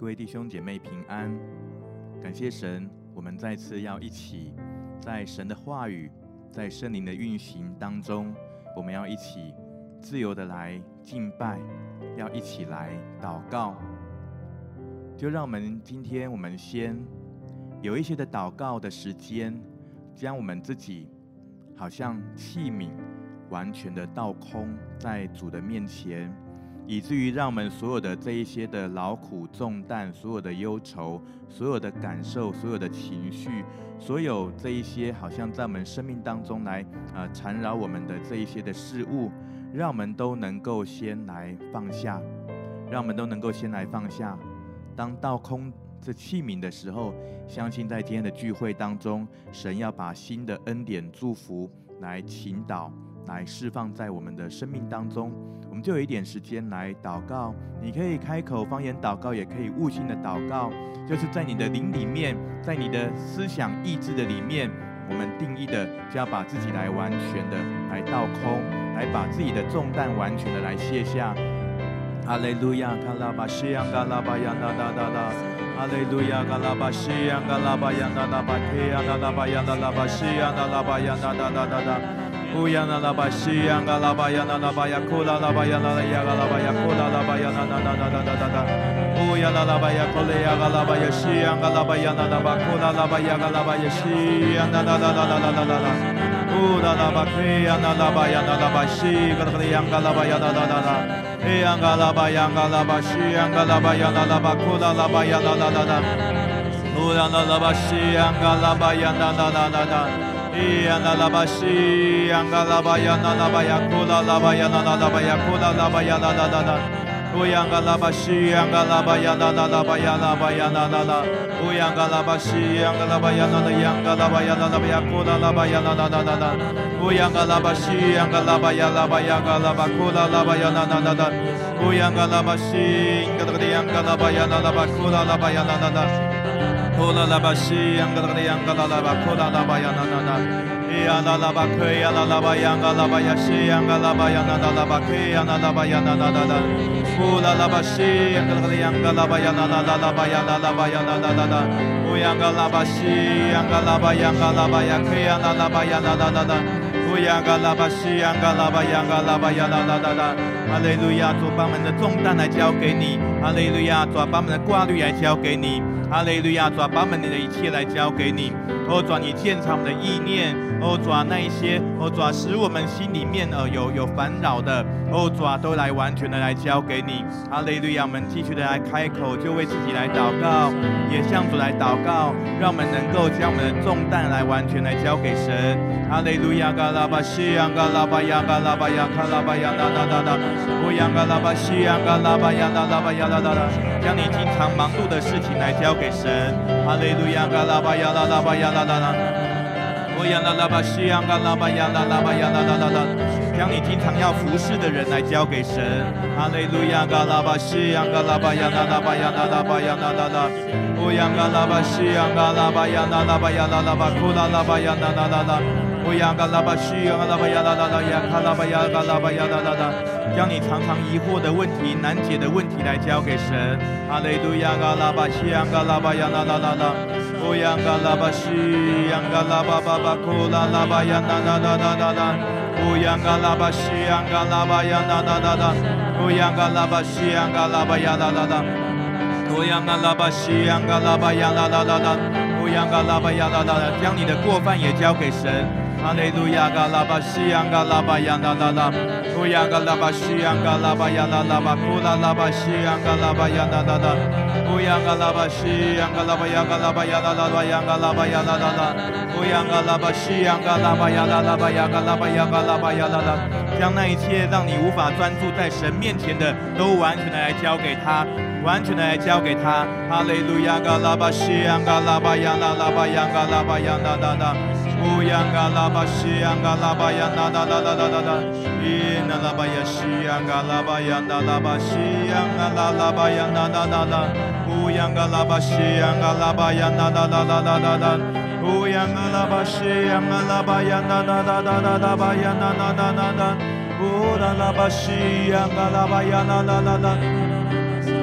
位弟兄姐妹平安，感謝神，我們再次要一起在神的話語，在聖靈的運行當中，我們要一起自由的來敬拜，要一起來禱告。就讓我們今天先有一些的禱告的時間，將我們自己好像器皿完全的倒空在主的面前，以至於讓我們所有的這一些的勞苦重擔，所有的憂愁，所有的感受，所有的情緒，所有這一些好像在我們生命當中來纏繞我們的這一些的事物，讓我們都能夠先來放下，讓我們都能夠先來放下。當倒空這器皿的時候，相信在今天的聚會當中，神要把新的恩典祝福來傾倒，來釋放在我們的生命當中。我們就有一點時間來禱告，你可以開口方言禱告，也可以悟性的禱告，就是在你的靈裡面，在你的思想意志的裡面，我們定義的就要把自己來完全的來倒空，來把自己的重擔完全的来卸下。哈利路亞，卡拉巴西扬嘎拉巴扬哒哒哒哒，哈利路亞，嘎拉巴西扬嘎拉巴扬哒哒巴提扬哒哒巴扬哒哒巴西扬哒拉巴扬哒哒哒哒哒。乌呀那拉巴西呀嘎拉巴呀那拉巴呀库拉拉巴呀那拉呀嘎拉巴呀库拉拉巴呀那那那那那那那，烏呀那拉巴呀庫雷呀嘎拉巴呀西呀嘎拉巴呀那拉巴庫拉拉巴呀嘎拉巴呀西呀那那那那那那那那，烏拉拉巴克呀那拉巴呀那拉巴西嘎拉巴呀嘎拉巴呀那那那那，哎呀嘎拉巴呀嘎拉巴西呀嘎拉巴呀那拉巴庫拉拉巴呀那那那那，烏呀那拉巴西呀嘎拉巴呀那那那那那。呀那拉巴西呀嘎拉巴呀那拉巴呀库拉拉巴呀那拉巴呀库拉拉巴呀那那那那，乌呀嘎拉巴西呀嘎拉巴呀那拉巴呀那巴呀那那那，烏呀嘎拉巴西呀嘎拉巴呀那拉呀嘎拉巴呀那拉巴呀库拉拉巴呀那那那那那，烏呀嘎拉巴西呀嘎拉巴呀拉巴呀嘎拉巴庫拉拉巴呀那那那那，烏呀嘎拉巴西嘎拉巴呀嘎拉巴呀那拉巴庫拉拉巴呀那那那。库拉拉巴西扬嘎拉巴扬嘎拉拉巴库拉拉巴扬那那那，呀那拉巴克呀那拉巴扬嘎拉巴呀西扬嘎拉巴扬那那拉巴克呀那拉巴扬那那那那，库拉拉巴西扬嘎拉巴扬嘎拉巴扬那那拉巴扬那拉巴扬那那那那，乌扬嘎拉巴西扬嘎拉巴扬嘎拉巴呀克呀那拉巴扬那那那那，烏扬嘎拉巴西扬嘎拉巴扬嘎拉巴扬那那那那。哈利路亞，主把我們的重擔來交給你。哈利路亞，主把我們的掛慮來交給你。哈利路亞，主把我們的一切來交給你。哦，主你鑒察我們的意念。哦，主那一些，哦，主使我們心裡面有煩擾的，哦，主都來完全的來交給你。哈利路亞，我們繼續的來開口，就為自己來禱告，也向主來禱告，讓我們能夠將我們的重擔來完全來交給神。哈利路亞，嘎拉巴西呀，嘎拉巴呀，嘎拉巴呀，卡拉巴呀，那那那那。烏央嘎拉巴西央嘎拉巴呀那拉巴呀啦啦啦，將你經常忙碌的事情來交給神。哈利路亞嘎拉巴呀啦啦巴呀啦啦啦，烏央啦啦巴西央嘎拉巴呀啦啦巴呀啦啦啦啦，將你經常要服侍的人來交給神。哈利路亞嘎拉巴西央嘎拉巴呀啦啦巴呀啦啦巴呀啦啦啦，烏央嘎拉巴西央嘎拉巴呀啦啦巴呀啦啦巴庫啦啦巴呀啦啦啦啦。烏央嘎拉巴西央嘎拉巴呀啦啦啦呀卡拉巴呀嘎拉巴呀啦啦啦，將你常常疑惑的問題、難解的問題來交給神。哈利路亞嘎拉巴西央嘎拉巴呀啦啦啦啦，烏央嘎拉巴西央嘎拉巴巴巴庫拉拉巴呀啦啦啦啦啦啦，烏央嘎拉巴西央嘎拉巴呀啦啦啦啦，烏央嘎拉巴西央嘎拉巴呀啦啦啦，烏央嘎拉巴西央嘎拉巴呀啦啦啦啦，烏央嘎拉巴呀啦啦啦，將你的過犯也交給神。哈利路亞嘎拉巴西央嘎拉巴呀啦啦啦，烏央嘎拉巴西央嘎拉巴呀啦啦巴庫拉拉巴西央嘎拉巴呀啦啦啦，烏央嘎拉巴西央嘎拉巴呀嘎拉巴呀啦啦巴呀嘎拉巴呀啦啦啦，烏央嘎拉巴西央嘎拉巴呀啦啦巴呀嘎拉巴呀嘎拉巴呀啦啦，將那一切讓你無法專注在神面前的，都完全的來交給他，完全的來交給他。哈利路亞嘎拉巴西央嘎拉巴呀啦啦巴呀嘎拉巴呀啦啦啦。烏央嘎拉巴西央嘎拉巴呀啦啦啦啦啦啦啦，伊那拉巴呀西央嘎拉巴呀啦啦巴西央嘎拉拉巴呀啦啦啦啦，烏央嘎拉巴西央嘎拉巴呀啦啦啦啦啦啦啦，烏央嘎拉巴西央嘎拉巴呀啦啦啦啦啦啦巴呀啦啦啦啦啦，烏拉拉巴西央嘎拉巴呀啦啦啦啦。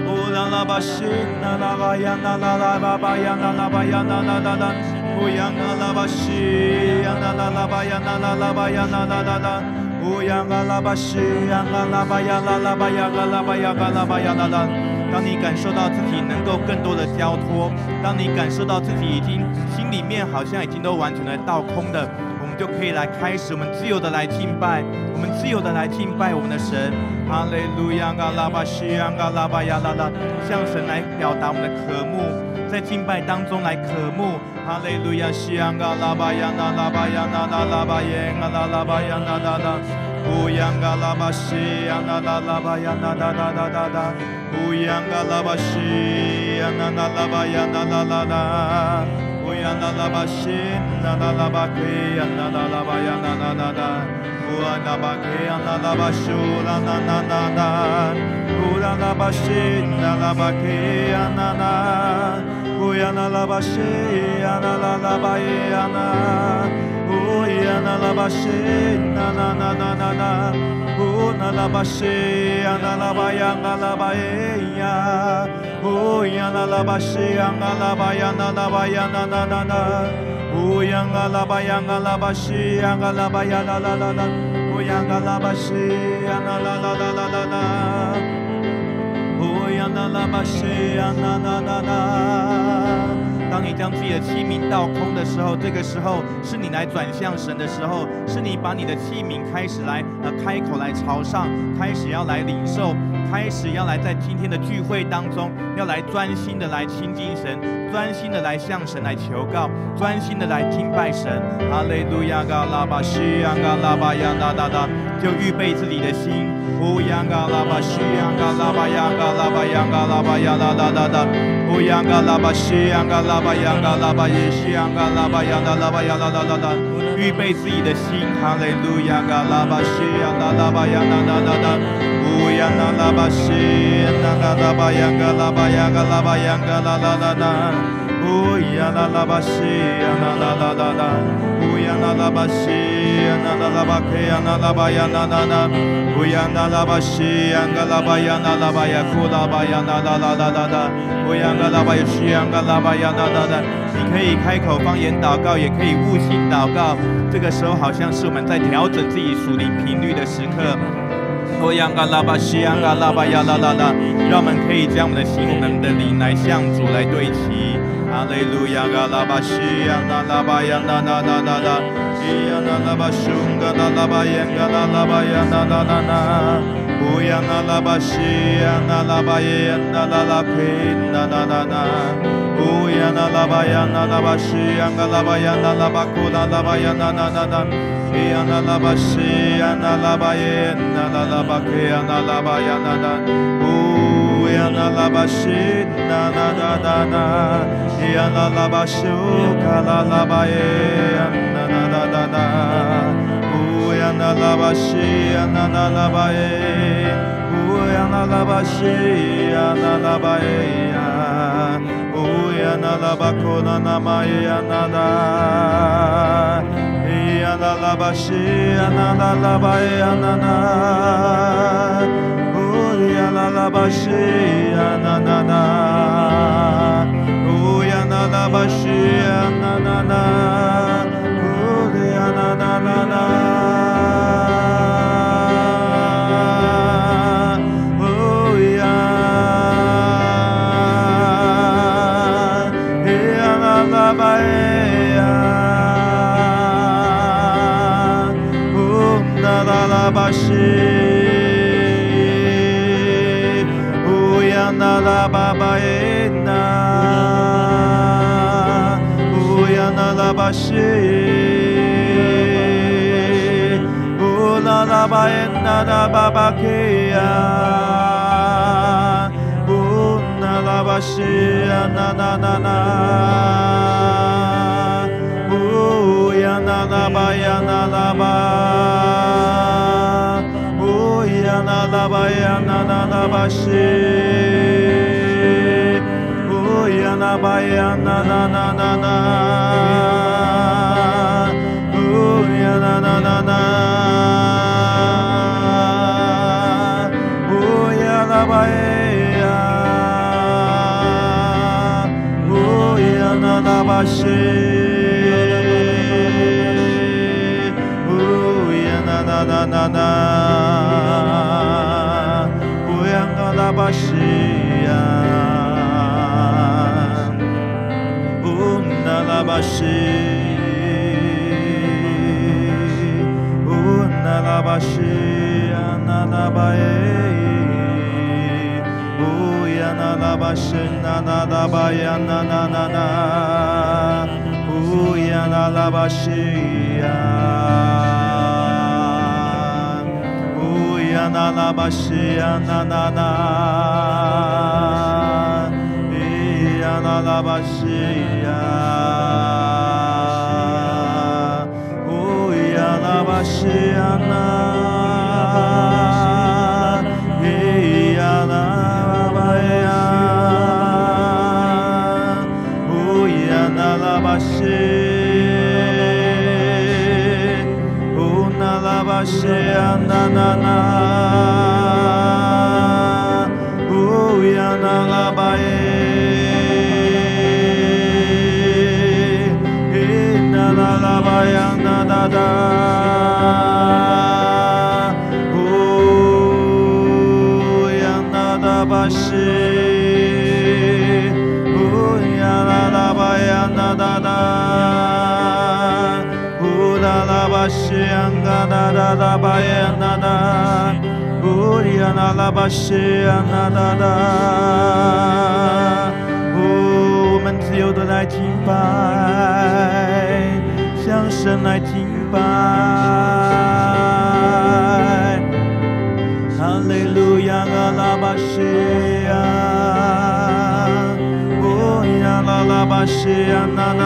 呀啦巴西那啦巴呀那啦啦巴巴呀那啦巴呀那啦啦啦，乌呀那啦巴西呀那啦啦巴呀那啦啦巴呀那啦啦啦，乌呀那啦巴西呀那啦巴呀啦啦巴呀啦啦巴呀啦啦巴呀啦啦。当你感受到自己能够更多的交托，当你感受到自己已经心裡面好像已經都完全的倒空的，我們就可以來開始，我們自由的來敬拜，我們自由的來敬拜我們的神。哈利路亞，嘎拉巴西亞，嘎拉巴亞拉拉，向神來表達我們的渴慕，在敬拜當中來渴慕。哈利路亞，西亞，嘎拉巴亞，那拉巴亞，那拉拉巴耶，嘎拉拉巴亞，那拉拉。烏央嘎拉巴西亞，那拉拉巴亞，那拉拉拉拉拉。烏央嘎拉巴西亞，那拉拉巴亞，那拉拉拉。烏央拉拉巴西，那拉拉巴基亞，那拉拉巴亞，那拉拉拉。烏拉拉巴基亞，那拉巴蘇拉，那那那那。烏拉拉巴西，那拉巴基亞，那那。烏央拉拉巴西亞，那拉拉巴亞，那。烏央拉拉巴西，那那那那那那。烏拉拉巴西亞，那拉巴亞，那拉巴亞。烏央拉拉巴西亞，那拉巴亞，那拉巴亞，那那那那。烏央拉巴亞，那拉巴西亞，那拉巴亞，那拉拉拉。烏央拉巴西亞，那拉拉拉拉拉拉。烏央拉巴西亞，那那那那。當你將自己的器皿倒空的時候，這個時候是你來轉向神的時候，是你把你的器皿開始來開口來朝上，開始要來領受，開始要來在今天的聚會當中，要來專心的來親近神，專心的來向神來求告，專心的來敬拜神。哈利路亞，嘎拉巴西亞，嘎拉巴亞，那那那，就預備自己的心。烏央嘎拉巴西亞，嘎拉巴亞，嘎拉巴亞，嘎拉巴亞，那那那那。烏央嘎拉巴西亞，嘎拉巴亞，嘎拉巴耶西亞，嘎拉巴亞，那拉巴亞，那那那那。預備自己的心。哈利路亞，嘎拉巴西亞，那拉巴亞，那那那那。烏央那拉巴西亞，那拉巴亞，嘎拉巴亞，嘎拉巴亞，嘎拉拉拉拉。烏央那拉巴西亞，那拉拉拉拉。烏央那拉巴西亞，那拉巴克亞，那拉巴亞，那那那。烏央那拉巴西亞，嘎拉巴亞，那拉巴亞，庫拉巴亞，那拉拉拉拉拉。烏央嘎拉巴耶西亞，嘎拉巴亞，那那那。你可以開口方言禱告，也可以悟性禱告。這個時候好像是我們在調整自己屬靈頻率的時刻。烏央嘎拉巴西亞，嘎拉巴亞，那那那。讓我們可以將我們的心、我們的靈來向主來對齊。哈利路亞，嘎拉巴西亞，那拉巴亞，那那那那那。伊亞那拉巴蘇，嘎拉拉巴耶，嘎拉拉巴亞，那那那那。烏央那拉巴西亞，那拉巴耶，那拉拉克，那那那那。烏央那拉巴亞，那拉巴西亞，嘎拉巴亞，那拉巴庫，那拉巴亞，那那那那。伊亞那拉巴西亞，那拉巴耶，那拉拉巴克，那拉巴亞，那那。烏央那拉巴西，那那那那那。伊亞那拉巴蘇，嘎拉拉巴耶，那那那那那。烏央那拉巴西亞，那那拉巴耶。烏央那拉巴西亞，那拉巴耶呀。烏央那拉巴庫，那那瑪耶呀，那那。伊央那拉巴西亞，那那拉巴耶呀，那那。烏央那拉巴西亞，那那那。烏央那拉巴西亞，那那那。烏央那那那那。巴西，烏央那拉巴巴耶那，烏央那拉巴西，烏拉拉巴耶那拉巴巴克呀，烏那拉巴西呀那那那那，烏央那拉巴呀那拉巴。那拉巴呀，那那拉巴西，烏央那巴呀，那那那那那，烏央那那那那，烏央那巴呀， 那拉巴西，那，乌央那拉巴西呀，乌那拉巴西，乌那拉巴西呀，那拉巴耶，乌呀那拉巴西，那拉巴呀，那，乌呀那拉巴西呀。那拉巴西呀，那，呀那拉巴西呀，哦呀拉巴西呀那，呀那巴呀，哦呀那拉巴西，哦那拉巴西呀那。我们自由的来敬拜，向神来敬拜。哈利路亞，阿拉巴西亞，哦呀啦啦巴西亞，那，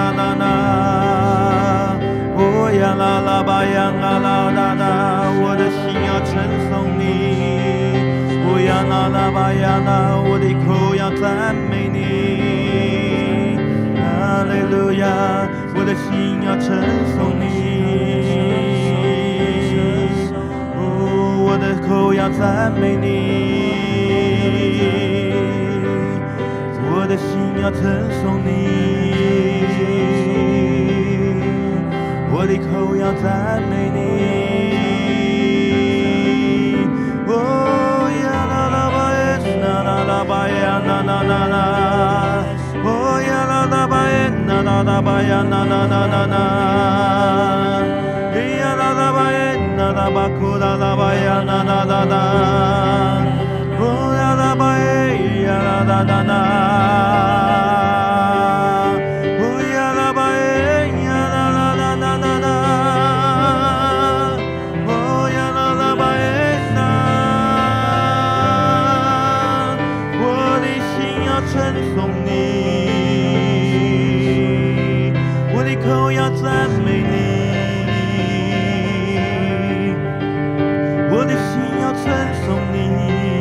哦呀啦啦巴呀，啦，我的心要稱頌你。呀那拉巴呀那，我的口要讚美你，哈利路亞，我的心要稱頌你，哦，我的口要讚美你，我的心要稱頌你，我的口要讚美你。那巴呀那，呀那巴耶那巴库那巴呀那，哦呀那巴耶呀那，哦呀那巴耶呀那，哦呀那巴耶那，我的心要稱頌你。口要讚美你，我的心要稱頌你，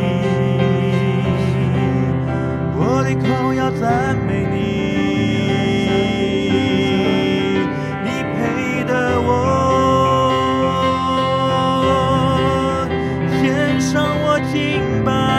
我的口要讚美你，你配得我，獻上我敬拜。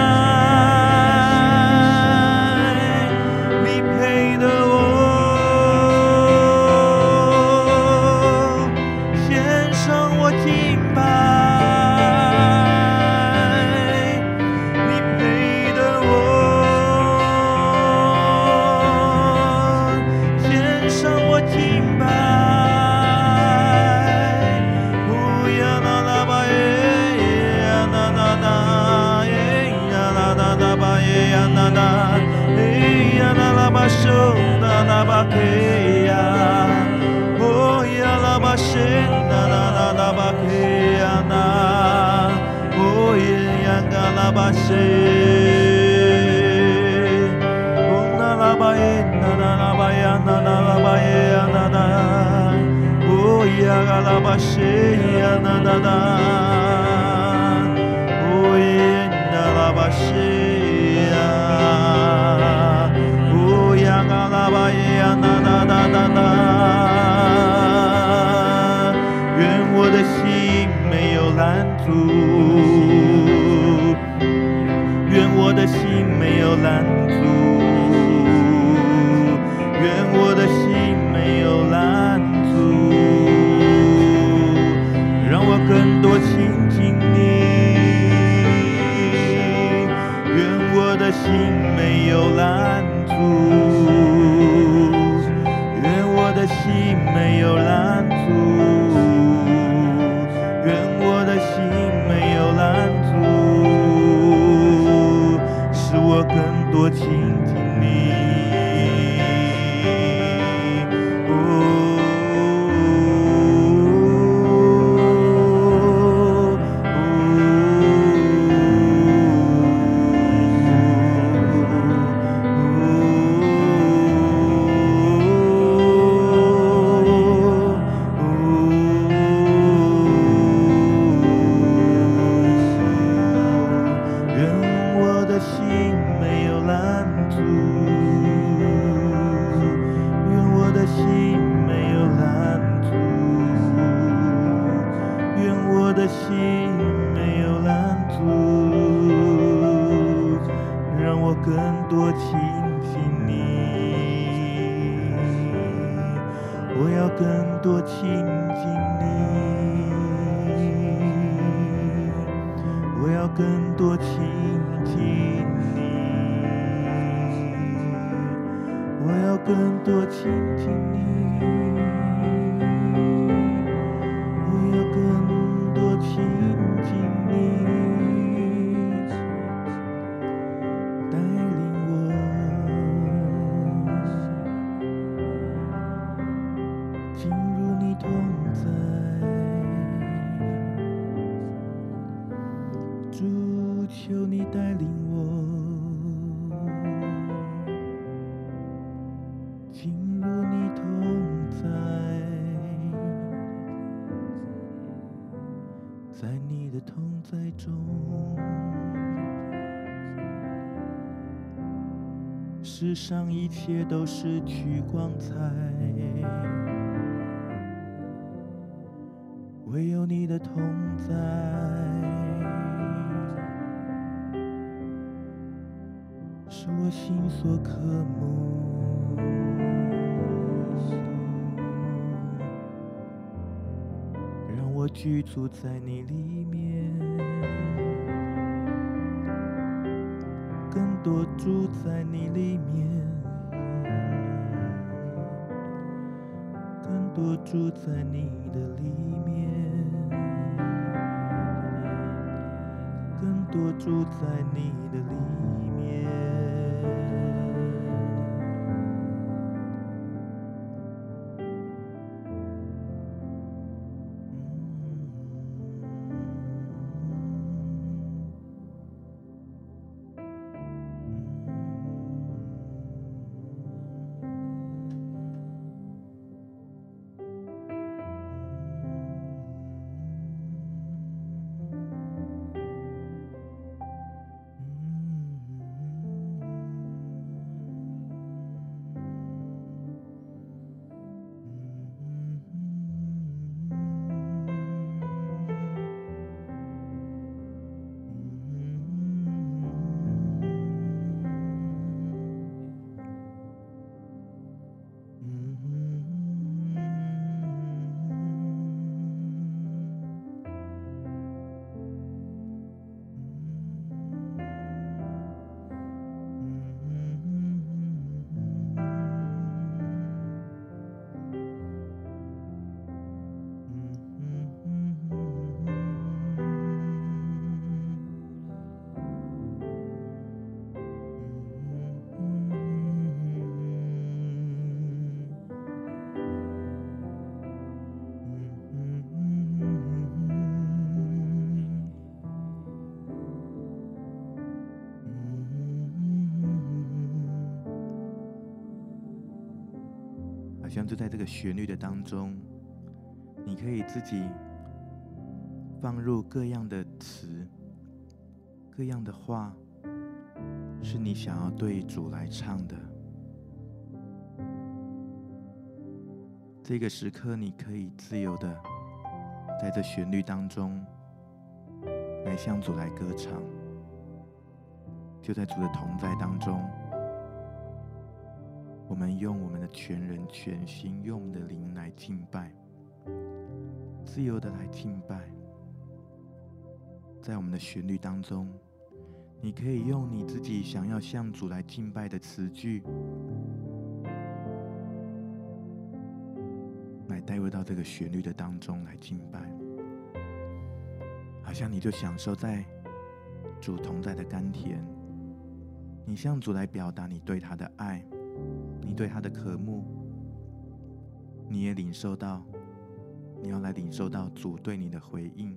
願我的心沒有攔阻，願我的心沒有攔阻，願我的心要更多親近你，我要更多親近你，我要更多親近你，我要更多親近你，帶領我進入你同在，主求你帶領我進入你同在，在你的同在中，世上一切都失去光彩，唯有你的同在是我心所渴慕，讓我居住在你裡面，更多住在你裡面，更多住在你的裡面，更多住在你的裡面。好像就在这個旋律的當中，你可以自己放入各樣的詞、各樣的話，是你想要對主來唱的。這個時刻，你可以自由的在這旋律當中來向主來歌唱，就在主的同在當中。我們用我們的全人全心，用我們的靈來敬拜，自由的來敬拜。在我們的旋律當中，你可以用你自己想要向主來敬拜的詞句，來帶入到這個旋律的當中來敬拜。好像你就享受在主同在的甘甜，你向主來表達你對他的愛，你對他的渴慕，你也領受到，你要來領受到主對你的回應。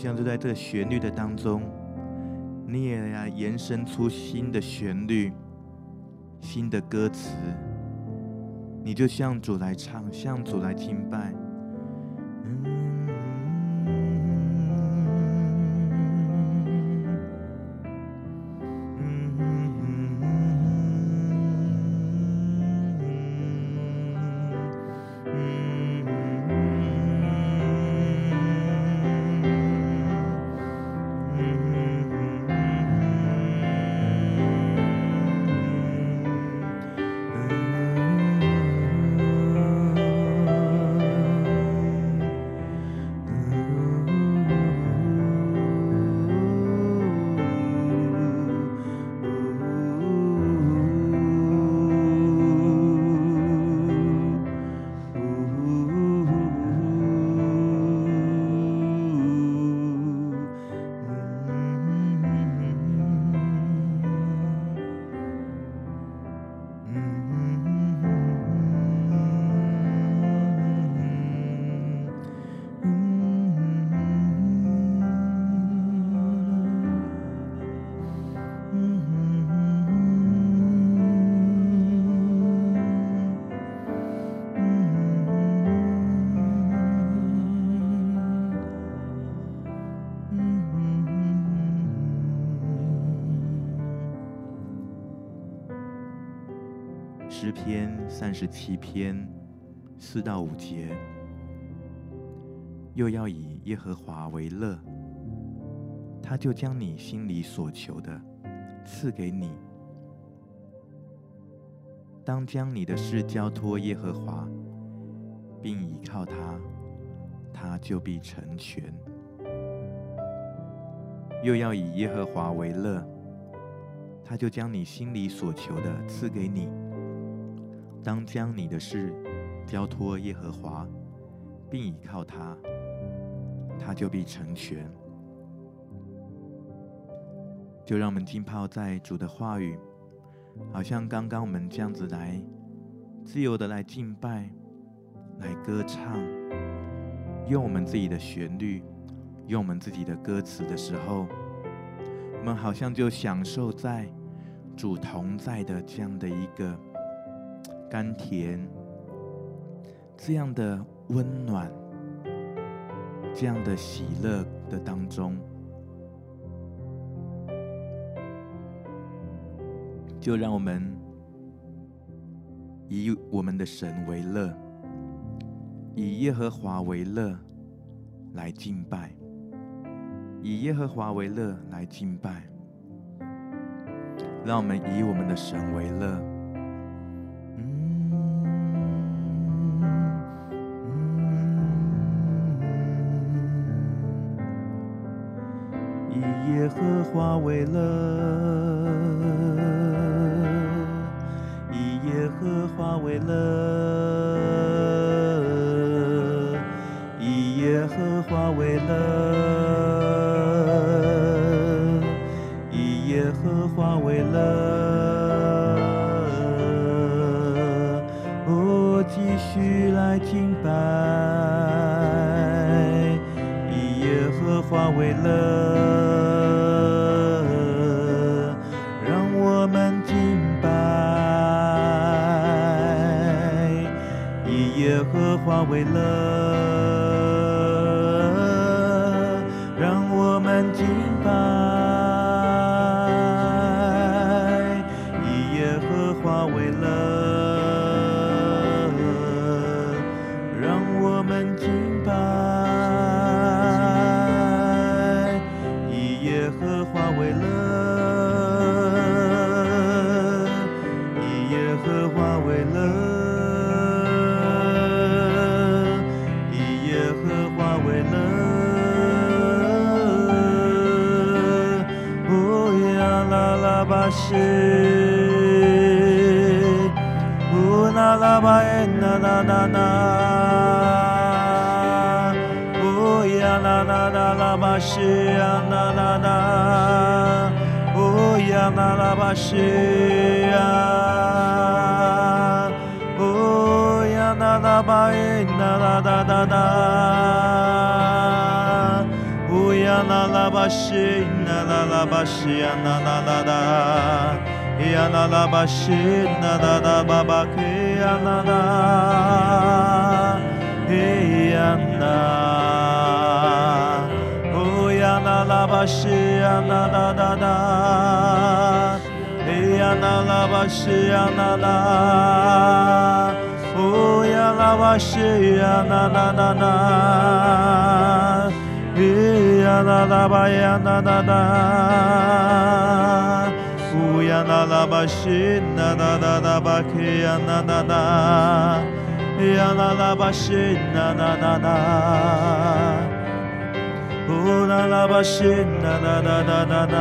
像就在這個旋律的當中，你也要延伸出新的旋律、新的歌詞，你就向主來唱，向主來敬拜。詩篇37篇4到5節，又要以耶和華為樂，他就將你心裡所求的賜給你。當將你的事交託耶和華，並倚靠他，他就必成全。又要以耶和華為樂，他就將你心裡所求的賜給你。當將你的事交託耶和華，並倚靠他，他就必成全。就讓我們浸泡在主的話語，好像剛剛我們這樣子來自由的來敬拜、來歌唱，用我們自己的旋律，用我們自己的歌詞的時候，我們好像就享受在主同在的這樣的一個甘甜，這樣的溫暖，這樣的喜樂的當中，就讓我們以我們的神為樂，以耶和華為樂來敬拜，以耶和華為樂來敬拜。讓我們以我們的神為樂。以耶和華為樂，以耶和華為樂，以耶和華為樂，以耶和華為樂。我繼續來敬拜，以耶和華為樂。耶和華為樂，讓我們敬拜。以耶和華為樂，讓我們敬拜。以耶和華為樂，以耶和華為樂。巴西，乌那拉巴耶那那那那，乌呀那那那拉巴西呀那那那，乌呀那拉巴西呀，乌呀那拉巴耶那那那那那，烏呀呀啦啦巴西那啦啦巴西呀那啦啦啦，呀啦啦巴西那啦啦巴巴克呀啦啦，呀啦，哦呀啦啦巴西呀啦啦啦啦，呀啦啦巴西呀啦啦。哦呀啦巴西呀啦啦啦啦，呀啦啦巴呀啦啦啦，哦呀啦啦巴西啦啦啦啦巴克呀啦啦啦，呀啦啦巴西啦啦啦啦，哦啦啦巴西啦啦啦啦啦啦，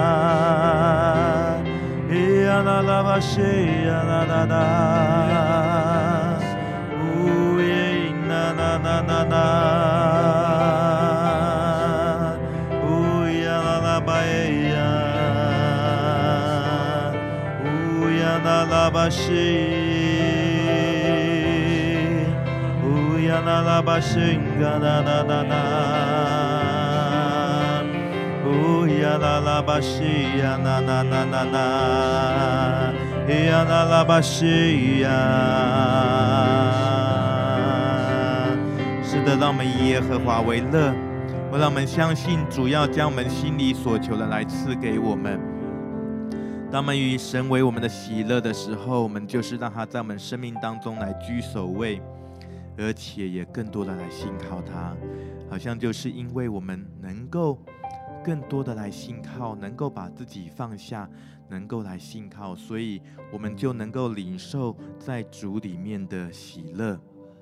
呀啦啦巴西呀啦啦啦。na na na na, uya la la ba ya, uya la la ba shi, uya la la ba shinga na na na na, uya la la ba shi ya na na na na na, ya la la ba shi ya。是的，让我们以耶和华為樂，讓我們相信主要將我們心裡所求的來賜給我們。當我們與神為我們的喜樂的時候，我們就是讓他在我們生命當中來居首位，而且也更多的來信靠他。好像就是因為我們能夠更多的來信靠，能夠把自己放下，能夠來信靠，所以我們就能夠領受在主裡面的喜樂。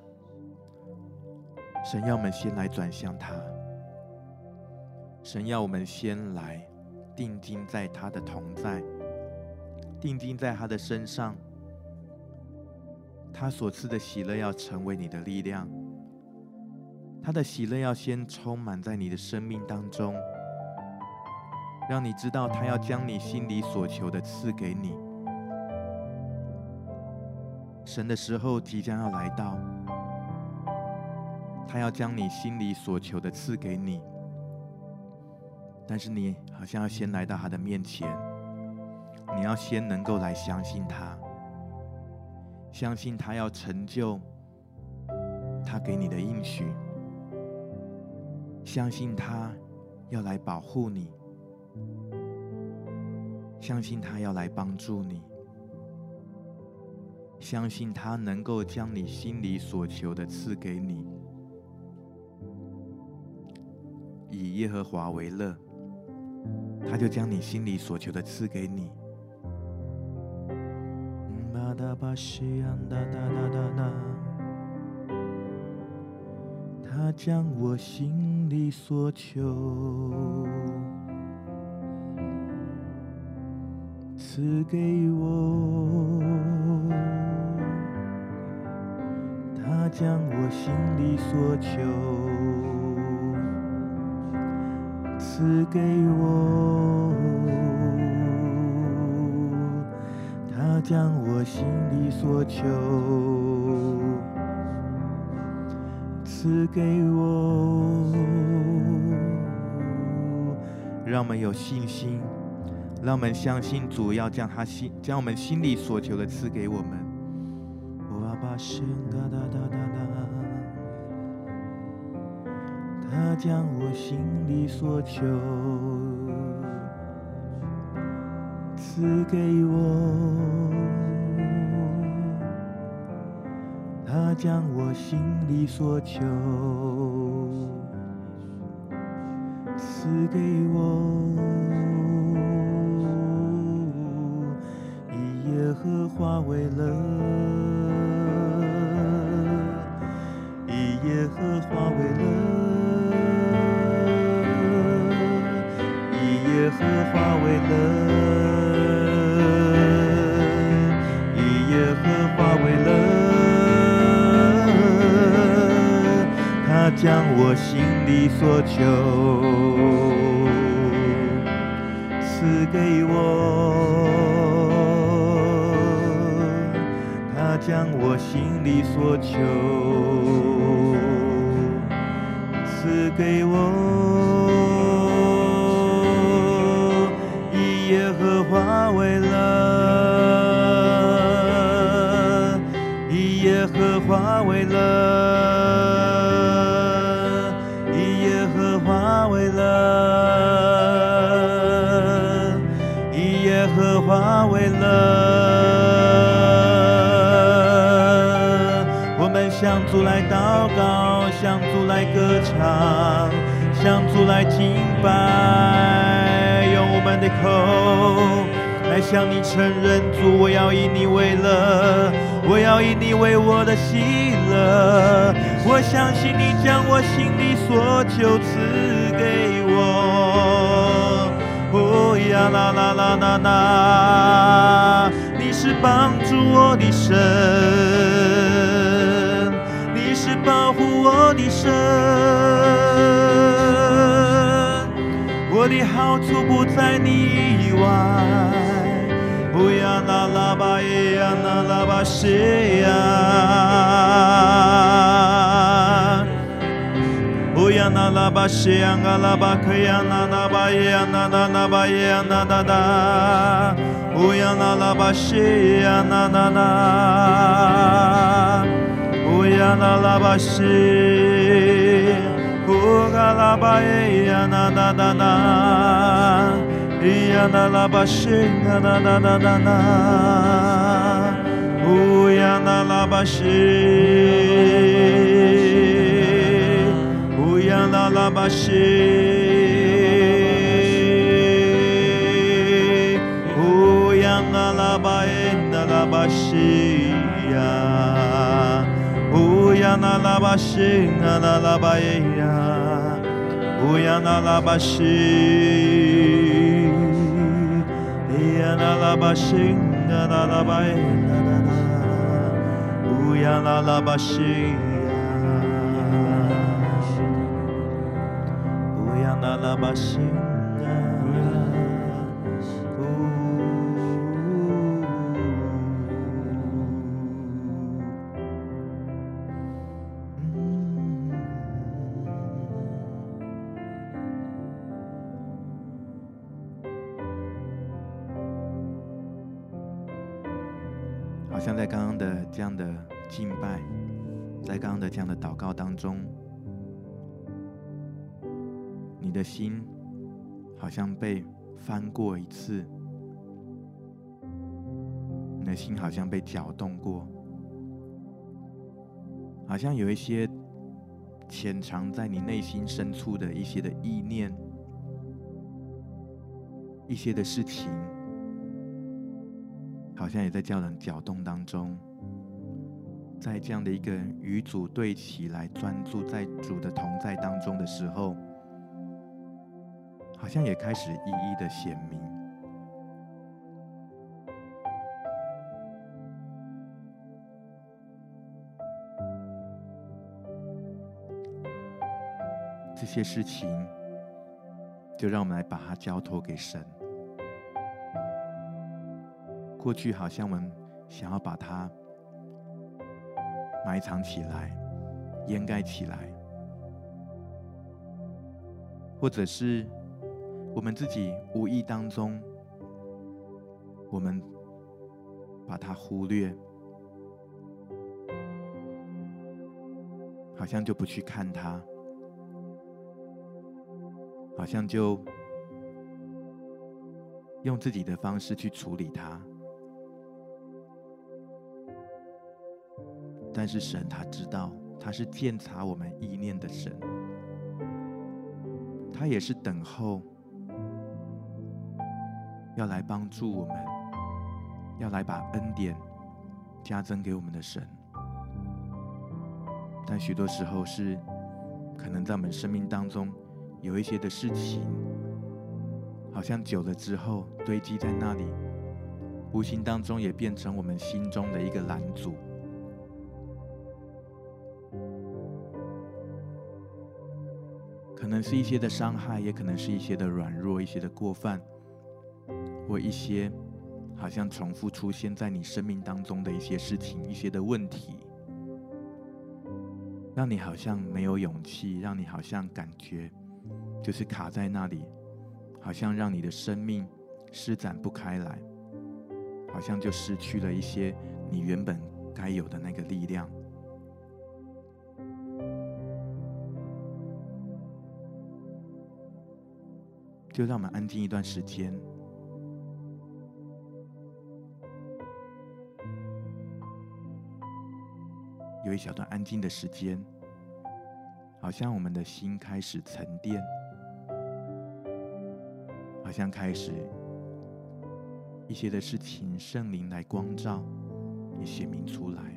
神要我們先來轉向他，神要我們先來定睛在他的同在，定睛在他的身上，他所賜的喜樂要成為你的力量，他的喜樂要先充滿在你的生命當中，讓你知道他要將你心裡所求的賜給你。神的時候即將要來到，他要將你心裡所求的賜給你，但是你好像要先來到他的面前，你要先能夠來相信他，相信他要成就他給你的應許，相信他要來保護你，相信他要來幫助你，相信他能夠將你心裡所求的賜給你。以耶和華為樂，他就將你心裡所求的賜給你。他將我心裡所求賜給我，他將我心裡所求賜給我，他將我心裡所求賜給我。讓我們有信心，讓我們相信主要將我們心裡所求的賜給我們。他將我心裡所求賜給我，他將我心裡所求賜給我，以耶和華為樂，以耶和華為樂。耶和華為樂，以耶和華為樂，他將我心裡所求賜給我，他將我心裡所求賜給我。 耶和華為樂，以耶和華為樂，以耶和華為樂，以耶和華為樂。我們向主來禱告，向主來歌唱，向主來敬拜，用我們的口來向你承認，主，我要以你為樂，我要以你為我的喜樂。我相信你將我心裡所求賜給我。哦呀啦啦啦啦啦，你是幫助我的神，你是保護我的神，我的好處不在你以外。哦呀啦啦吧耶呀啦啦吧謝呀，哦呀啦啦吧謝呀啦啦吧可呀啦啦吧耶呀啦啦啦吧耶呀啦啦啦，哦呀啦啦吧謝呀啦啦啦，哦呀啦啦吧謝，哦嘎啦吧耶呀啦啦啦啦。呀啦啦吧谢呀啦啦啦啦啦，哦呀啦啦吧谢，哦呀啦啦吧谢，哦呀啦啦吧耶啦啦吧谢呀，哦呀啦啦吧谢呀啦啦吧耶呀，哦呀啦啦吧谢。呀啦啦吧谢呀啦啦吧耶啦啦啦，哦呀啦啦吧谢呀，哦呀啦啦吧谢呀， 好像在刚刚的这樣的敬拜，在剛剛的這樣的禱告當中，你的心好像被翻過一次，你的心好像被攪動過，好像有一些潛藏在你內心深處的一些的意念，一些的事情，好像也在叫人攪動當中，在這樣的一個與主對齊來專注在主的同在當中的時候，好像也開始一一的顯明。這些事情，就讓我們來把它交託給神。過去好像我們想要把它埋藏起來、掩蓋起來，或者是我們自己無意當中，我們把它忽略，好像就不去看它，好像就用自己的方式去處理它。但是神他知道，他是鑒察我們意念的神，他也是等候要來幫助我們，要來把恩典加增給我們的神。但許多時候是可能在我們生命當中有一些的事情，好像久了之後堆積在那裡，無形當中也變成我們心中的一個攔阻。可能是一些的傷害，也可能是一些的軟弱，一些的過犯，或一些好像重複出現在你生命當中的一些事情，一些的問題，讓你好像沒有勇氣，讓你好像感覺就是卡在那裡，好像讓你的生命施展不開來，好像就失去了一些你原本該有的那個力量。就讓我們安靜一段時間，有一小段安靜的時間，好像我們的心開始沉澱，好像開始一些的事情，聖靈來光照，也顯明出來。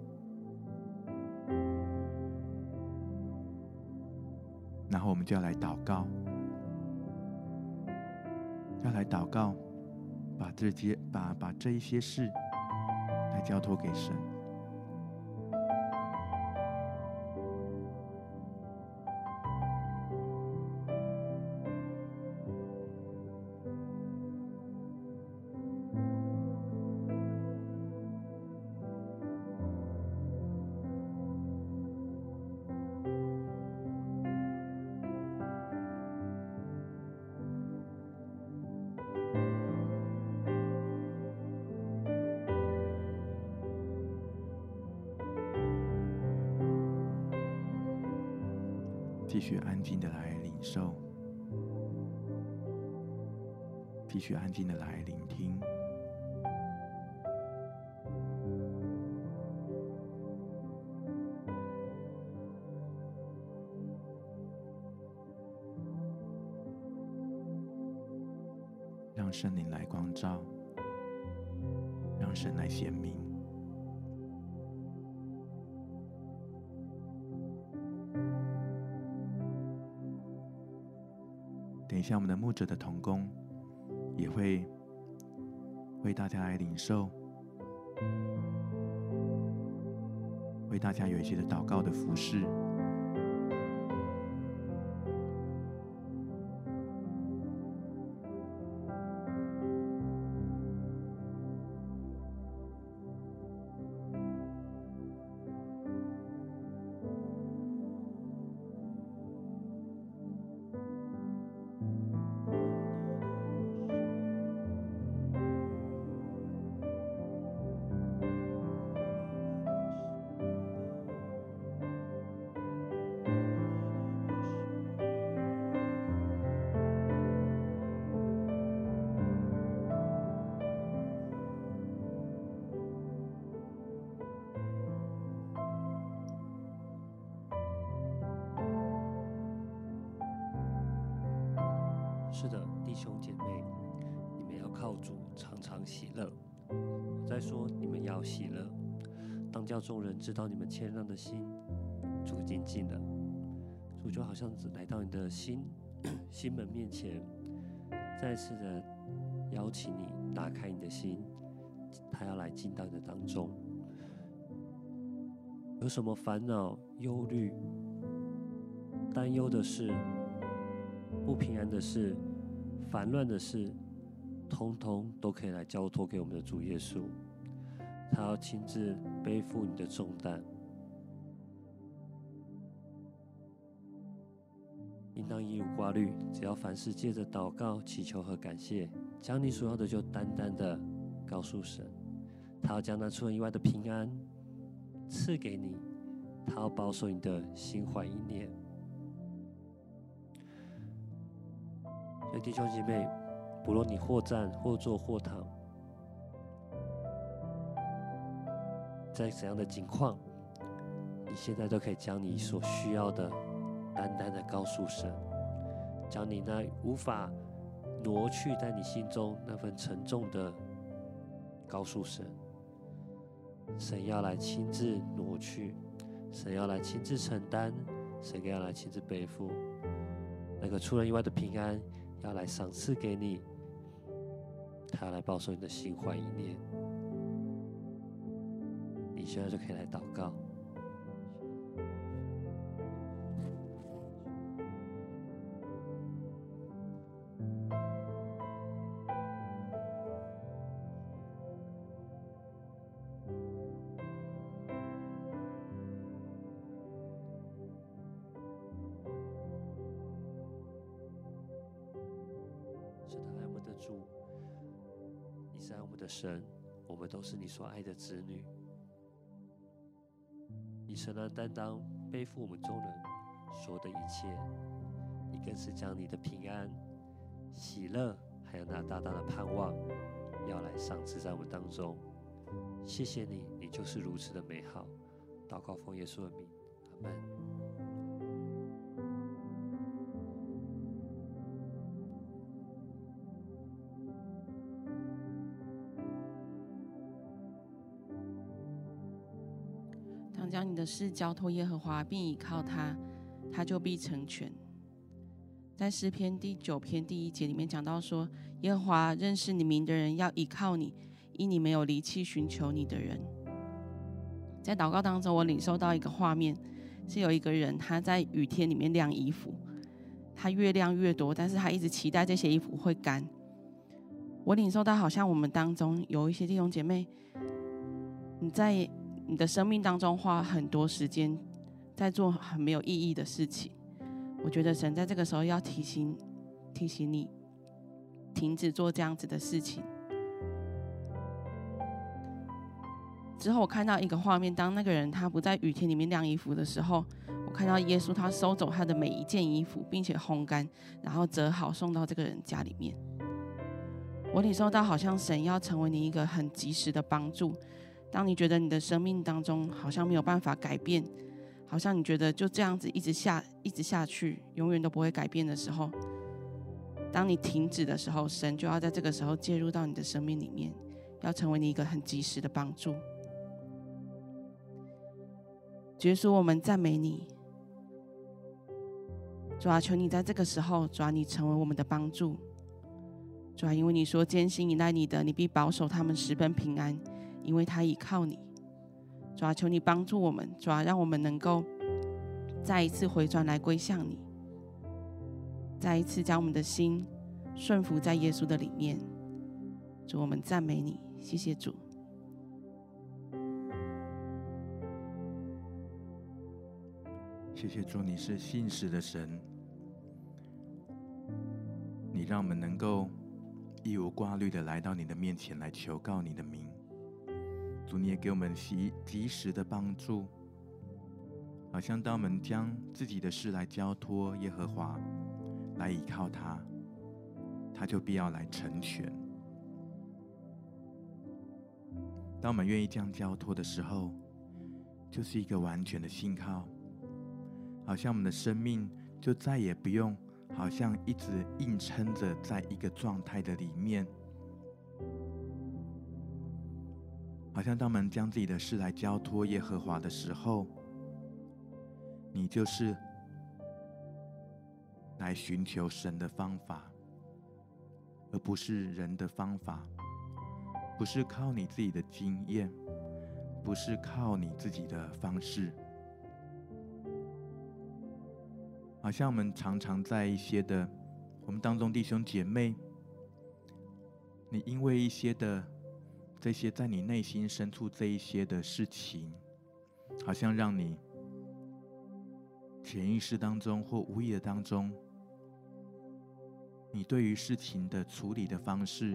然後我們就要來禱告，把這一些事來交託給神。继續安靜的來領受，繼續安靜的來聆聽。讓聖靈來光照，讓神來顯明。等一下，我們的牧者的同工也會為大家來領受，為大家有一些的禱告的服事。 是的，弟兄姐妹，你們要靠主常常喜樂。我在說，你們要喜樂，當叫眾人知道你們謙讓的心，主已經近了。主就好像來到你的心門面前，再次的邀請你打開你的心，他要來進到你的當中。有什麼煩惱、憂慮、擔憂的事、不平安的事、煩亂的事，通通都可以來交托給我們的主耶穌。他要親自背負你的重擔，應當一無掛慮，只要凡事借着禱告、祈求和感謝，將你所要的就單單的告訴神。他要將那出人意外的平安賜給你，他要保守你的心懷意念。所以弟兄姐妹，不論你或站或坐或躺，在怎樣的境況，你現在都可以將你所需要的單單的告訴神，將你那無法挪去在你心中那份沉重的告訴神。神要來親自挪去，神要來親自承擔，神要來親自背負那個出人意外的平安，要來賞賜給你，他要來保守你的心懷意念。你現在就可以來禱告。是的，爱我们的主， 是愛我們的神，我們都是你所愛的子女。你承擔擔當，背負我們眾人所有的一切，你更是將你的平安、喜樂，還有那大大的盼望，要來賞賜在我們當中。謝謝你，你就是如此的美好。禱告奉耶穌的名，阿們。 当将你的事交托耶和華，並倚靠他，他就必成全。在詩篇第9篇第1節裡面講到說，耶和華認識你名的人要倚靠你，因你沒有離棄尋求你的人。在禱告當中，我領受到一個畫面，是有一個人他在雨天裡面晾衣服，他越晾越多，但是他一直期待這些衣服會乾。我領受到好像我們當中有一些弟兄姐妹，你在你的生命當中花很多時間在做很沒有意義的事情。我覺得神在這個時候要提醒你，停止做這樣子的事情。之後我看到一個畫面，當那個人他不在雨天裡面晾衣服的時候，我看到耶穌他收走他的每一件衣服，並且烘乾，然後折好送到這個人家裡面。我領受到好像神要成為你一個很及時的幫助。當你覺得你的生命當中好像沒有辦法改變，好像你覺得就這樣子一直下去，永遠都不會改變的時候，當你停止的時候，神就要在這個時候介入到你的生命裡面，要成為你一個很及時的幫助。耶穌，我們讚美你，主啊，求你在這個時候，主啊，你成為我們的幫助。主啊，因為你說堅心依賴你的，你必保守他們十分平安，因為他倚靠你。主啊，求你幫助我們，主啊，讓我們能夠再一次回轉來歸向你，再一次將我們的心順服在耶穌的裡面。主，我們讚美你，謝謝主。 謝謝主，你是信實的神，你讓我們能夠一無掛慮的來到你的面前來求告你的名。主，你也給我們及時的幫助，好像當我們將自己的事來交托耶和華，來倚靠他，他就必要來成全。當我們願意這樣交托的時候，就是一個完全的信靠，好像我們的生命就再也不用好像一直硬撐着在一個狀態的裡面。好像當我們將自己的事來交托耶和華的時候，你就是來尋求神的方法，而不是人的方法，不是靠你自己的經驗，不是靠你自己的方式。好像我們常常在一些的我們當中弟兄姐妹，你因為一些的這些在你內心深處這一些的事情，好像讓你潛意識當中或無意的當中，你對於事情的處理的方式，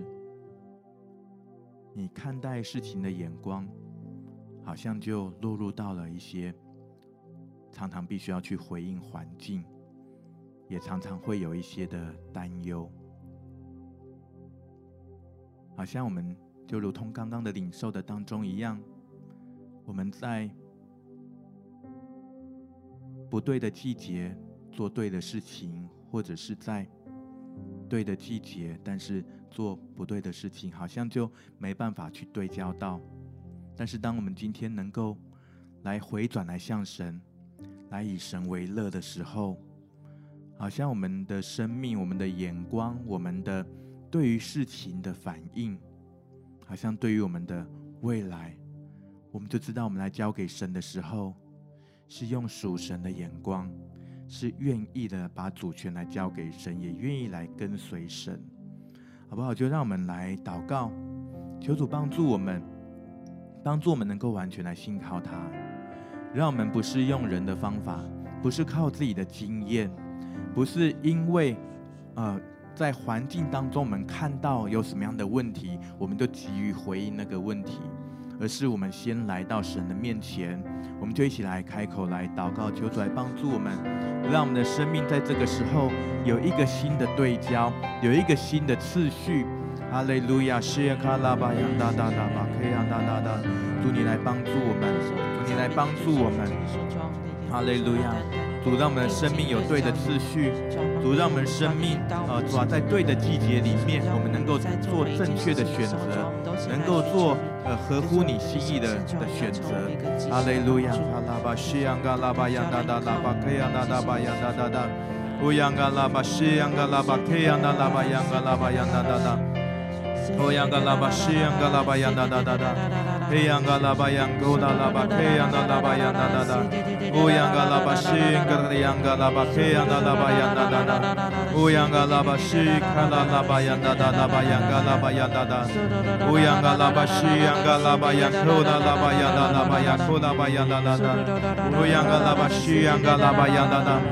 你看待事情的眼光，好像就落入到了一些常常必須要去回應環境，也常常會有一些的擔憂，好像我們就如同剛剛的領受的當中一樣，我們在不對的季節做對的事情，或者是在对的季節但是做不对的事情，好像就沒辦法去對焦到。但是當我們今天能夠來回轉來向神，來以神為樂的時候，好像我們的生命、我們的眼光、我們的對於事情的反應，好像對於我們的未来，我們就知道我們來交給神的時候，是用屬神的眼光，是願意的把主權來交給神，也願意來跟隨神，好不好？就讓我們來禱告，求主幫助我們能夠完全來信靠他，讓我們不是用人的方法，不是靠自己的經驗，不是因為在環境當中我們看到有什麼樣的問題，我們就急於回應那個問題，而是我們先來到神的面前，我們就一起來開口來禱告，求主來幫助我們，讓我們的生命在這個時候有一個新的對焦，有一個新的次序。哈利路亞，謝卡拉巴揚達達達巴克揚達達達，主你來幫助我們，主你來幫助我們。哈利路亞，主讓我們的生命有对的次序，主讓我們的生命主在对的季節裡面，我們能夠做正確的選擇，能夠做合乎你心意的選擇。哈利路亞，哈拉巴西揚嘎拉巴揚達達拉巴克揚達達巴揚達達達，烏揚嘎拉巴西揚嘎拉巴克揚達拉巴揚嘎拉巴揚達達達。Oh yang galaba shi yang galaba yang da da da da, hey yang galaba yang gola laba ke yang da laba yang da da da. Oh yang galaba shi yang galaba ke yang da laba yang da da da. Oh yang galaba shi kala laba yang da da laba yang galaba yang da da. Oh yang galaba shi yang galaba yang gola laba yang da laba yang gola laba yang da da da. Oh yang galaba shi yang galaba yang da da.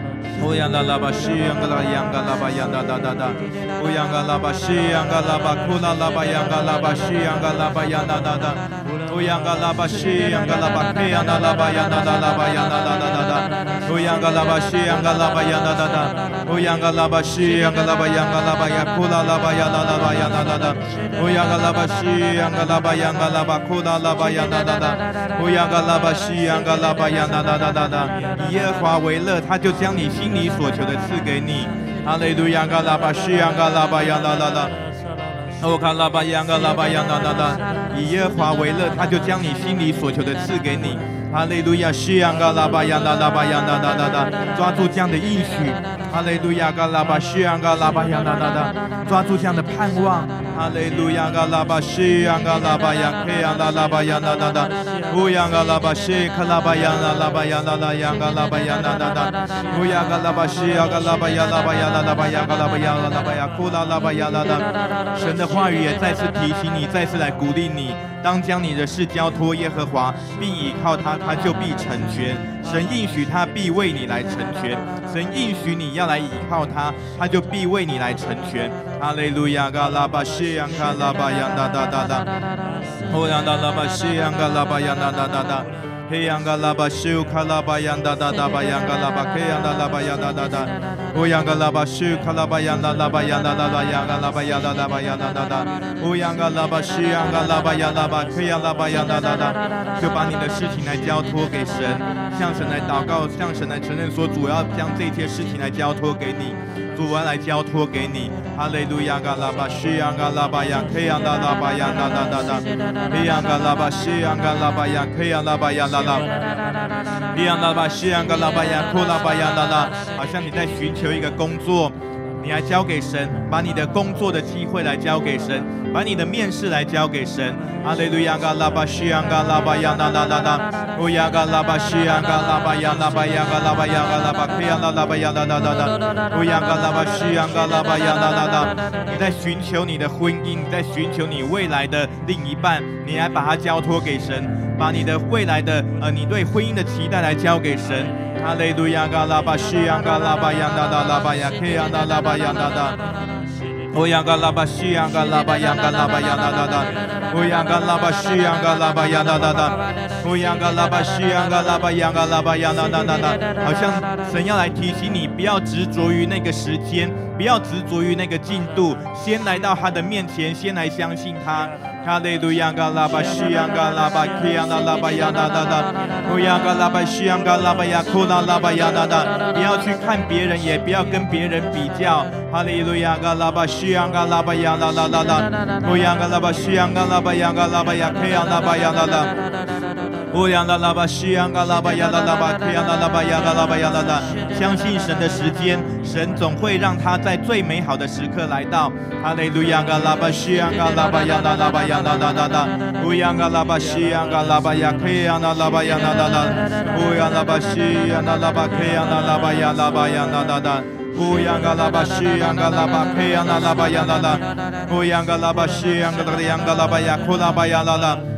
Oh yang galaba shi yang galaba yang da da da da. Oh yang galaba shi yang galaba kula laba yang galaba shi yang galaba yang da da da. Oh yang galaba shi yang galaba ke yang da laba yang da da laba yang da da da da. Oh yang galaba shi yang galaba yang da da da. Oh yang galaba shi yang galaba yang kula laba yang da laba yang da da da. Oh yang galaba shi yang galaba kula laba yang da da da. Oh yang galaba shi yang galaba yang da da da da. 以耶和華為樂，他就將你心裡所求的賜給你。哈利路亞，嘎拉巴西揚嘎拉巴揚啦啦啦，哦卡拉巴揚嘎拉巴揚啦啦啦。以耶和華為樂，他就將你心裡所求的賜給你。哈利路亞，西揚嘎拉巴揚啦啦巴揚啦啦啦啦，抓住這樣的應許。哈利路亞，嘎拉巴西揚嘎拉巴揚啦啦啦，抓住這樣的盼望。哈利路亞，嘎拉巴西揚嘎拉巴揚克揚啦啦巴揚啦啦啦，烏揚嘎拉巴西卡拉巴揚啦啦巴揚啦啦揚嘎拉巴揚啦啦啦，烏揚嘎拉巴西揚嘎拉巴揚啦巴揚啦啦巴揚嘎拉巴揚啦啦巴揚庫啦啦巴揚啦啦。神的話語也再次提醒你，再次來鼓勵你，當將你的事交託耶和華，並倚靠他，他就必成全。神應許他必為你來成全，神應許你要來倚靠他，他就必為你來成全。哈利路亞，嘎拉巴西揚嘎拉巴揚噠噠噠噠，哦揚噠拉巴西揚嘎拉巴揚噠噠噠噠。嘿揚嘎拉巴西卡拉巴揚噠噠噠巴揚嘎拉巴克揚噠拉巴揚噠噠噠，哦揚嘎拉巴西卡拉巴揚噠拉巴揚噠噠噠揚嘎拉巴揚噠拉巴揚噠噠噠，哦揚嘎拉巴西揚嘎拉巴揚拉巴克揚拉巴揚噠噠噠，就把你的事情來交託給神，向神來禱告，向神來承認說，主要將這些事情來交託給你。主要來交託給你，哈利路亞，嘎拉巴西揚嘎拉巴揚克揚噠拉巴揚噠噠噠噠，嘿揚嘎拉巴西揚嘎拉巴揚克揚拉巴揚噠噠，嘿揚拉巴西揚嘎拉巴揚庫拉巴揚噠噠，好像你在尋求一個工作，你來交給神，把你的工作的機會來交給神，把你的面試來交給神。哈利路亞，嘎拉巴西揚嘎拉巴揚噠噠噠噠，烏亞嘎拉巴西揚嘎拉巴揚拉巴揚嘎拉巴揚嘎拉巴克揚拉巴揚噠噠噠噠，烏亞嘎拉巴西揚嘎拉巴揚噠噠噠。你在尋求你的婚姻，你在尋求你未來的另一半，你來把它交託給神，把你的未來的你對婚姻的期待來交給神。哈利路亞，嘎拉巴西揚嘎拉巴揚噠噠拉巴揚克揚噠拉巴揚噠噠。Oh yang galaba shi yang galaba yang galaba yang da da da. Oh yang galaba shi yang galaba yang da da da. Oh yang galaba shi yang galaba yang galaba yang da da da da. 好像神要來提醒你，不要執着於那個時間，不要執着於那個進度，先來到他的面前，先來相信他。哈利路亞，嘎拉巴西揚嘎拉巴克揚拉巴揚噠噠噠。Oh yang galaba shi yang galaba yang庫拉巴揚噠噠。不要去看別人，也不要跟別人比較。哈利路亞，嘎拉巴西揚嘎拉巴揚啦啦啦啦。Oh yang galaba shi yang galaba yang galaba yang克揚拉巴揚啦啦。Oh yang galaba shi yang galaba yang啦啦巴克揚拉巴揚啦巴揚啦啦。相信神的時間，神總會讓他在最美好的時刻來到。哈利路亞，嘎拉巴西揚嘎拉巴揚啦啦巴揚啦啦啦啦。Oh yang galaba shi yang galaba yang克揚啦巴揚啦啦啦。Oh yang galaba shi yang galaba克揚啦巴揚啦巴揚啦啦啦。Oh yang galaba shi yang galaba克揚啦巴揚啦啦。Oh yang galaba shi yang galaba yang庫拉巴揚啦啦。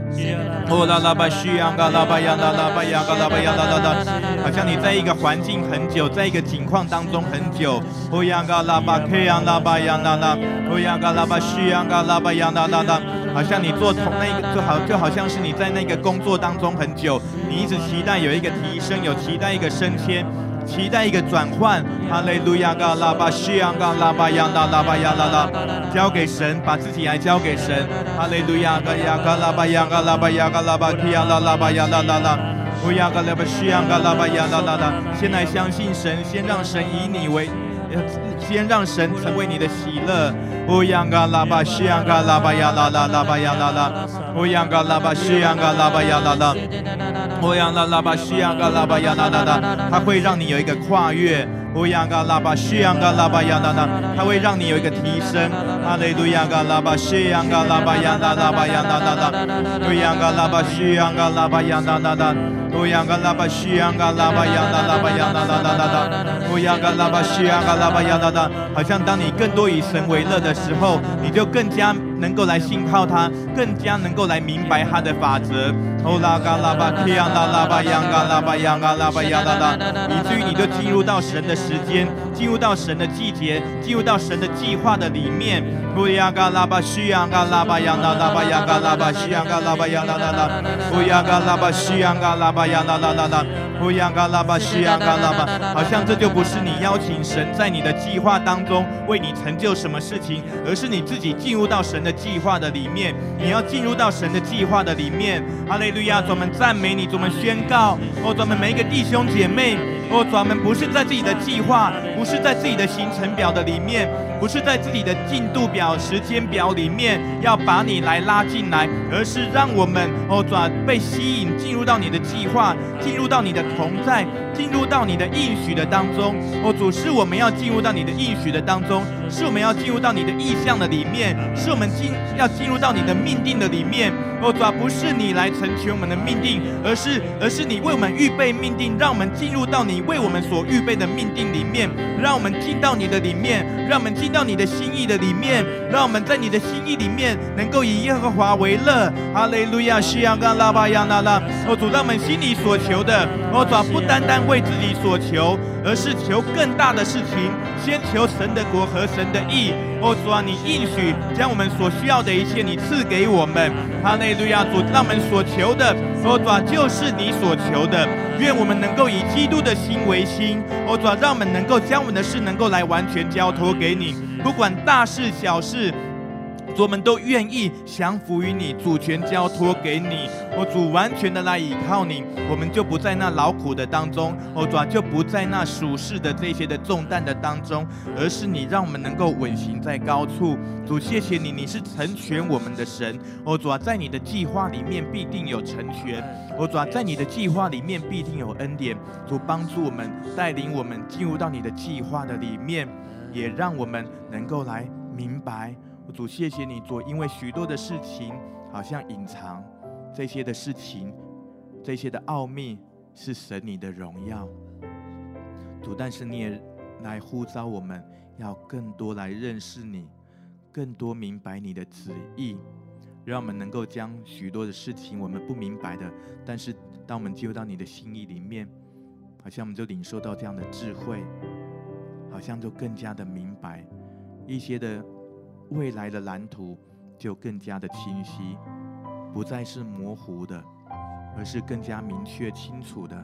哦啦啦吧西呀嘎啦吧呀啦啦吧呀嘎啦吧呀啦啦啦，好像你在一个环境很久，在一个境況當中很久。哦呀嘎啦吧 K 呀啦吧呀啦啦，哦呀嘎啦吧西呀嘎啦吧呀啦啦啦，好像你做同那個就好像是你在那個工作當中很久，你一直期待有一個提升，有期待一個升遷。期待一個轉換，哈利路亞嘎拉巴西昂嘎拉巴呀啦啦巴呀啦啦，交給神，把自己來交給神，哈利路亞嘎呀嘎拉巴呀嘎拉巴呀嘎拉巴提呀啦啦巴呀啦啦啦，烏呀嘎拉巴西昂嘎拉巴呀啦啦啦，先來相信神，先讓神以你為，先讓神成為你的喜樂。烏呀嘎拉巴西昂嘎拉巴呀啦啦啦巴呀啦啦，烏呀嘎拉巴西昂嘎拉巴呀啦啦。歐陽拉拉巴西昂嘎拉巴呀啦啦啦，它會讓你有一個跨越。歐陽嘎拉巴西昂嘎拉巴呀啦啦，它會讓你有一個提升。哈利路亞嘎拉巴西昂嘎拉巴呀啦啦巴呀啦啦啦，歐陽嘎拉巴西昂嘎拉巴呀啦啦啦，歐陽嘎拉巴西昂嘎拉巴呀啦啦巴呀啦啦啦啦啦，歐陽嘎拉巴西昂嘎拉巴呀啦啦，好像當你更多以神為樂的時候，你就更加能夠來信靠他，更加能夠來明白他的法則。歐拉嘎拉巴提昂拉拉巴揚嘎拉巴揚嘎拉巴呀啦啦，以至於你就進入到神的時間，進入到神的季節，進入到神的計劃的裡面。烏呀嘎拉巴西揚嘎拉巴揚啦啦巴呀嘎拉巴西揚嘎拉巴呀啦啦啦，烏呀嘎拉巴西揚嘎拉巴呀啦啦啦啦，烏呀嘎拉巴西揚嘎拉巴，好像這就不是你邀請神在你的計劃當中為你成就什麼事情，而是你自己進入到神的計劃的裡面，你要進入到神的計劃的裡面。哈利路亞，主，我們讚美你，主，我們宣告，哦，主，我們每一個弟兄姐妹，哦，主，我們不是在自己的計劃，不是在自己的行程表的裡面，不是在自己的進度表、時間表裡面要把你來拉進來，而是讓我們，哦，主，被吸引進入到你的計劃，進入到你的同在，進入到你的應許的當中。哦，主，是我們要進入到你的應許的當中，是我們要進入到你的意象的裡面，是我們要進入到你的命定的裡面。哦，主，不是你來成全我們的命定，而是你為我們預備命定，讓我們進入到你為我們所預備的命定裡面，讓我們進到你的裡面，讓我們進到你的心意的裡面，讓我們在你的心意裡面能夠以耶和華為樂。哈利路亞，西揚嘎拉巴呀啦啦。哦，主，讓我們心裡所求的，哦，主，不單單為自己所求，而是求更大的事情，先求神的國和神的義。哦，主啊，你應許將我們所需要的一切，你賜給我們。哈利路亞，主，讓我們所求的，哦，主啊，就是你所求的。願我們能夠以基督的心為心。哦，主啊，讓我們能夠將我們的事能夠來完全交託給你，不管大事小事。主，我們都願意降服於你，主權交託給你。哦，主，完全的來倚靠你，我們就不在那勞苦的當中，哦，主，就不在那屬世的這些的重擔的當中，而是你讓我們能夠穩行在高處。主，謝謝你，你是成全我們的神。哦，主，在你的計劃裡面必定有成全。哦，主，在你的計劃裡面必定有恩典。主，幫助我們，帶領我們進入到你的計劃的裡面，也讓我們能夠來明白。主，謝謝你，主，因為許多的事情好像隱藏，這些的事情，這些的奧秘是神你的榮耀。主，但是你也來呼召我們，要更多來認識你，更多明白你的旨意，讓我們能夠將許多的事情我們不明白的，但是當我們進入到你的心意裡面，好像我們就領受到這樣的智慧，好像就更加的明白一些的未來的藍圖就更加的清晰，不再是模糊的，而是更加明確清楚的。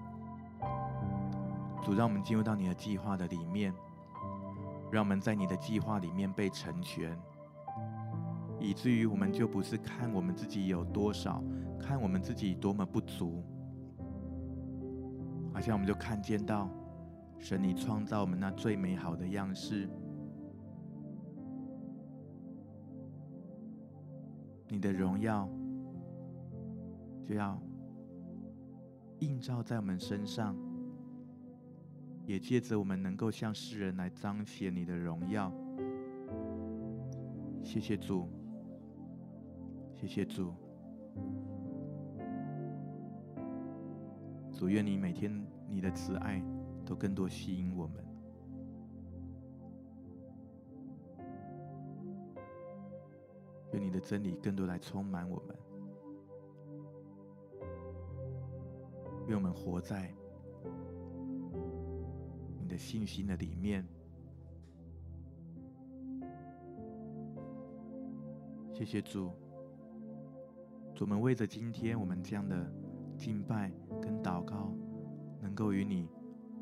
主，讓我們進入到你的計劃的裡面，讓我們在你的計劃裡面被成全，以至於我們就不是看我們自己有多少，看我們自己多麼不足，好像我們就看見到神你創造我們那最美好的樣式，你的榮耀就要映照在我們身上，也借着我們能夠向世人來彰顯你的榮耀。謝謝主，謝謝主。主，願你每天你的慈愛都更多吸引我們，願你的真理更多來充滿我們。 願我們活在你的信心的裡面。謝謝主，主，我們為着今天我們這樣的敬拜跟禱告，能夠與你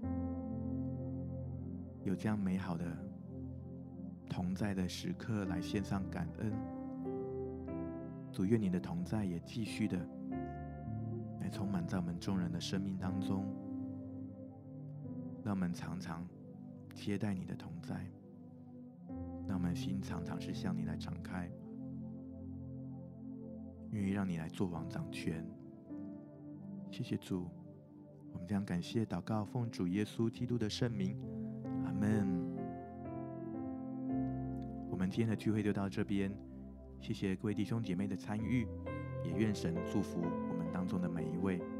有這樣美好的同在的時刻來獻上感恩。主，願你的同在也繼續的來充滿在我們眾人的生命當中，讓我們常常接待你的同在，讓我們心常常是向你來敞開，願意讓你來作王掌權。謝謝主，我們將感謝禱告，奉主耶穌基督的聖名，阿們。我們今天的聚會就到這邊，謝謝各位弟兄姐妹的參與，也願神祝福我們當中的每一位。